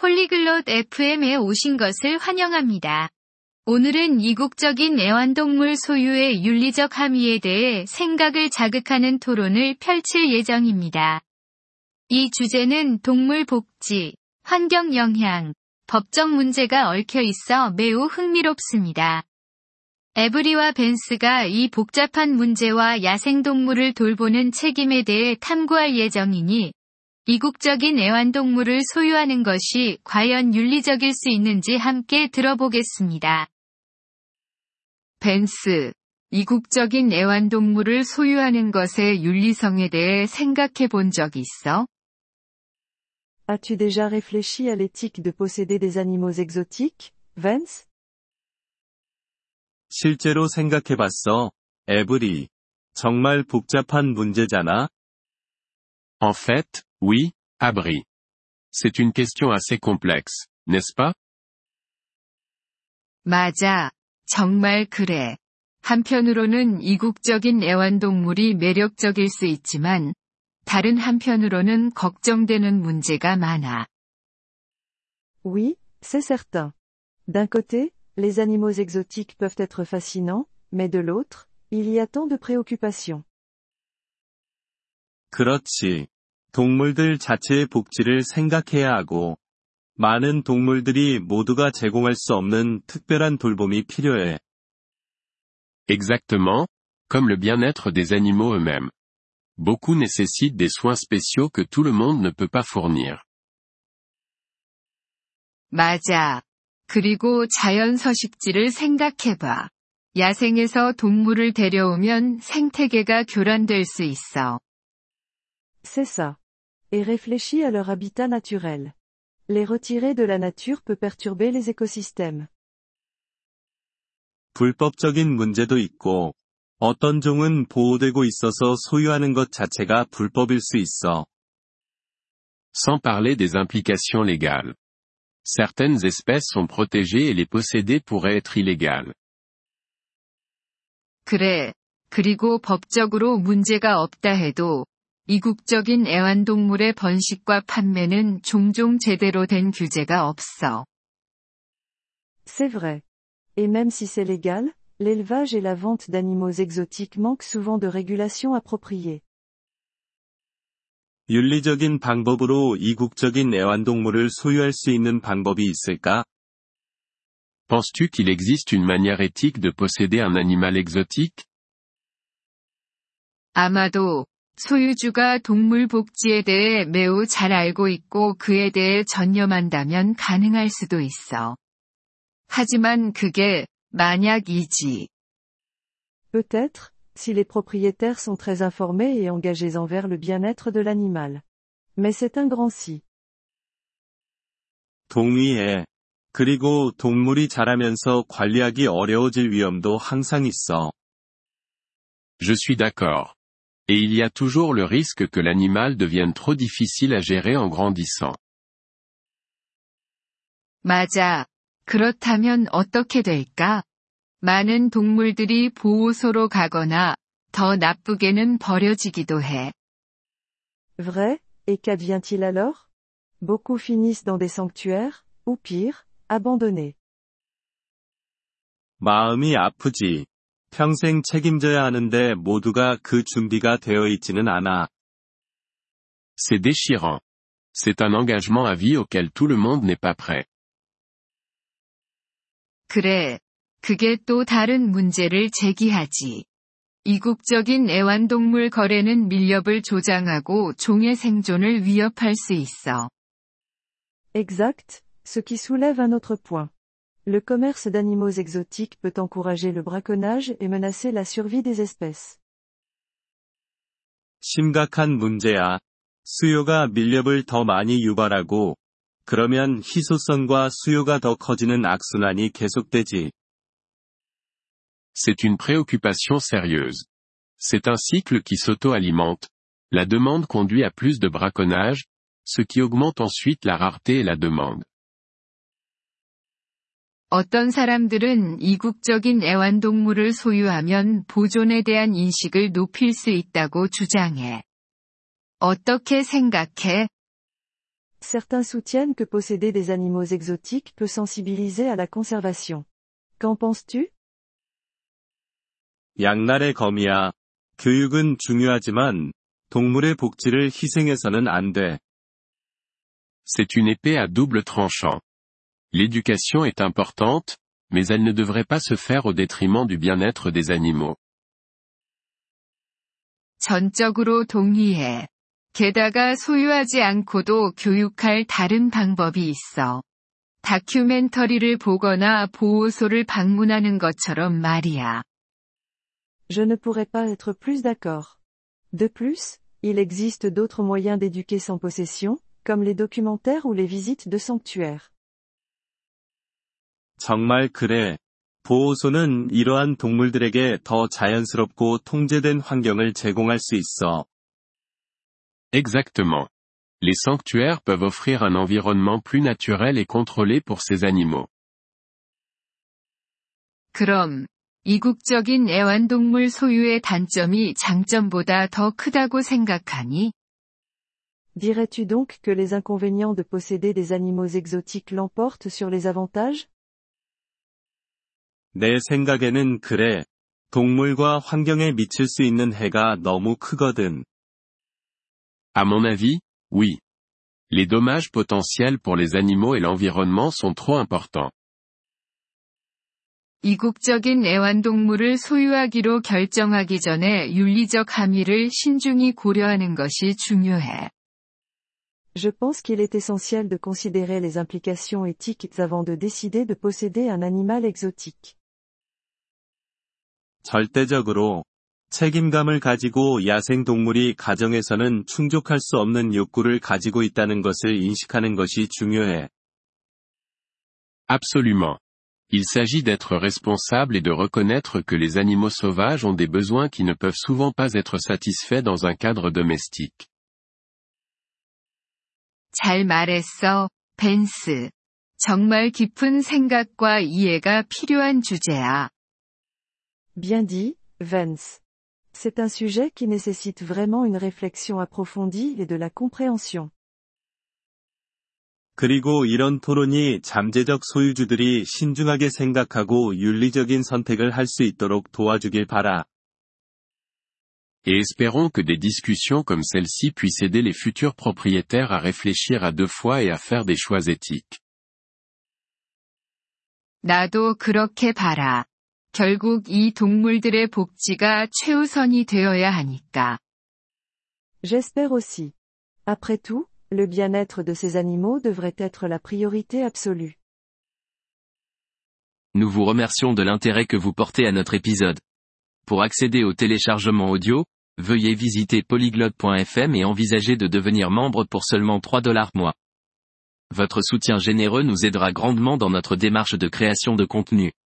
폴리글롯 FM에 오신 것을 환영합니다. 오늘은 이국적인 애완동물 소유의 윤리적 함의에 대해 생각을 자극하는 토론을 펼칠 예정입니다. 이 주제는 동물 복지, 환경 영향, 법적 문제가 얽혀 있어 매우 흥미롭습니다. 에브리와 벤스가 이 복잡한 문제와 야생동물을 돌보는 책임에 대해 탐구할 예정이니, 이국적인 애완동물을 소유하는 것이 과연 윤리적일 수 있는지 함께 들어보겠습니다. 벤스, 이국적인 애완동물을 소유하는 것의 윤리성에 대해 생각해 본 적 있어? As-tu déjà réfléchi à l'éthique de posséder des animaux exotiques, Vance? 실제로 생각해봤어, 에브리. 정말 복잡한 문제잖아. En fait, oui, Abri. C'est une question assez complexe, n'est-ce pas? 맞아. 정말 그래. 한편으로는 이국적인 애완동물이 매력적일 수 있지만, 다른 한편으로는 걱정되는 문제가 많아. Oui, c'est certain. D'un côté, les animaux exotiques peuvent être fascinants, mais de l'autre, il y a tant de préoccupations. 그렇지. 동물들 자체의 복지를 생각해야 하고, 많은 동물들이 모두가 제공할 수 없는 특별한 돌봄이 필요해. Exactement, comme le bien-être des animaux eux-mêmes. Beaucoup nécessitent des soins spéciaux que tout le monde ne peut pas fournir. 맞아. 그리고 자연 서식지를 생각해봐. 야생에서 동물을 데려오면 생태계가 교란될 수 있어. C'est ça. Et réfléchis à leur habitat naturel. Les retirer de la nature peut perturber les écosystèmes. 불법적인 문제도 있고, 어떤 종은 보호되고 있어서 소유하는 것 자체가 불법일 수 있어. Sans parler des implications légales. Certaines espèces sont protégées et les posséder pourrait être illégal. 그래. 그리고 법적으로 문제가 없다 해도, 이국적인 애완동물의 번식과 판매는 종종 제대로 된 규제가 없어. C'est vrai. Et même si c'est légal, l'élevage et la vente d'animaux exotiques manquent souvent de régulation appropriée. 윤리적인 방법으로 이국적인 애완동물을 소유할 수 있는 방법이 있을까? Penses-tu qu'il existe une manière éthique de posséder un animal exotique? 아마도, 소유주가 동물 복지에 대해 매우 잘 알고 있고 그에 대해 전념한다면 가능할 수도 있어. 하지만 그게 만약이지. Peut-être, si les propriétaires sont très informés et engagés envers le bien-être de l'animal. Mais c'est un grand si. 동의해. 그리고 동물이 자라면서 관리하기 어려워질 위험도 항상 있어. Je suis d'accord. Et il y a toujours le risque que l'animal devienne trop difficile à gérer en grandissant. 맞아. 그렇다면 어떻게 될까? 많은 동물들이 보호소로 가거나, 더 나쁘게는 버려지기도 해. Vrai, et qu'advient-il alors? Beaucoup finissent dans des sanctuaires, ou pire, abandonnés. 마음이 아프지. 평생 책임져야 하는데 모두가 그 준비가 되어 있지는 않아. C'est déchirant. C'est un engagement à vie auquel tout le monde n'est pas prêt. 그래. 그게 또 다른 문제를 제기하지. 이국적인 애완동물 거래는 밀렵을 조장하고 종의 생존을 위협할 수 있어. Exact, ce qui soulève un autre point. Le commerce d'animaux exotiques peut encourager le braconnage et menacer la survie des espèces. 심각한 문제야. 수요가 밀렵을 더 많이 유발하고, 그러면 희소성과 수요가 더 커지는 악순환이 계속되지. C'est une préoccupation sérieuse. C'est un cycle qui s'auto-alimente. La demande conduit à plus de braconnage, ce qui augmente ensuite la rareté et la demande. 어떤 사람들은 이국적인 애완동물을 소유하면 보존에 대한 인식을 높일 수 있다고 주장해. 어떻게 생각해? Certains soutiennent que posséder des animaux exotiques peut sensibiliser à la conservation. Qu'en penses-tu? 양날의 검이야. 교육은 중요하지만 동물의 복지를 희생해서는 안 돼. C'est une épée à double tranchant. L'éducation est importante, mais elle ne devrait pas se faire au détriment du bien-être des animaux. 전적으로 동의해. 게다가 소유하지 않고도 교육할 다른 방법이 있어. 다큐멘터리를 보거나 보호소를 방문하는 것처럼 말이야. Je ne pourrais pas être plus d'accord. De plus, il existe d'autres moyens d'éduquer sans possession, comme les documentaires ou les visites de sanctuaires. 정말 그래. 보호소는 이러한 동물들에게 더 자연스럽고 통제된 환경을 제공할 수 있어. Exactement. Les sanctuaires peuvent offrir un environnement plus naturel et contrôlé pour ces animaux. 그럼, 이국적인 애완동물 소유의 단점이 장점보다 더 크다고 생각하니? Dirais-tu donc que les inconvénients de posséder des animaux exotiques l'emportent sur les avantages? 내 생각에는 그래. 동물과 환경에 미칠 수 있는 해가 너무 크거든. À mon avis, oui. Les dommages potentiels pour les animaux et l'environnement sont trop importants. 이국적인 애완동물을 소유하기로 결정하기 전에 윤리적 함의를 신중히 고려하는 것이 중요해. Je pense qu'il est essentiel de considérer les implications éthiques avant de décider de posséder un animal exotique. 절대적으로 책임감을 가지고 야생동물이 가정에서는 충족할 수 없는 욕구를 가지고 있다는 것을 인식하는 것이 중요해. Absolument. Il s'agit d'être responsable et de reconnaître que les animaux sauvages ont des besoins qui ne peuvent souvent pas être satisfaits dans un cadre domestique. 잘 말했어, 벤스. 정말 깊은 생각과 이해가 필요한 주제야. Bien dit, Vance. C'est un sujet qui nécessite vraiment une réflexion approfondie et de la compréhension. 그리고 이런 토론이 잠재적 소유주들이 신중하게 생각하고 윤리적인 선택을 할 수 있도록 도와주길 바라. Et espérons que des discussions comme celle-ci puissent aider les futurs propriétaires à réfléchir à deux fois et à faire des choix éthiques. 나도 그렇게 봐라. 결국 이 동물들의 복지가 최우선이 되어야 하니까. J'espère aussi. Après tout, le bien-être de ces animaux devrait être la priorité absolue. Nous vous remercions de l'intérêt que vous portez à notre épisode. Pour accéder au téléchargement audio, veuillez visiter polyglotte.fm et envisager de devenir membre pour seulement $3 mois. Votre soutien généreux nous aidera grandement dans notre démarche de création de contenu.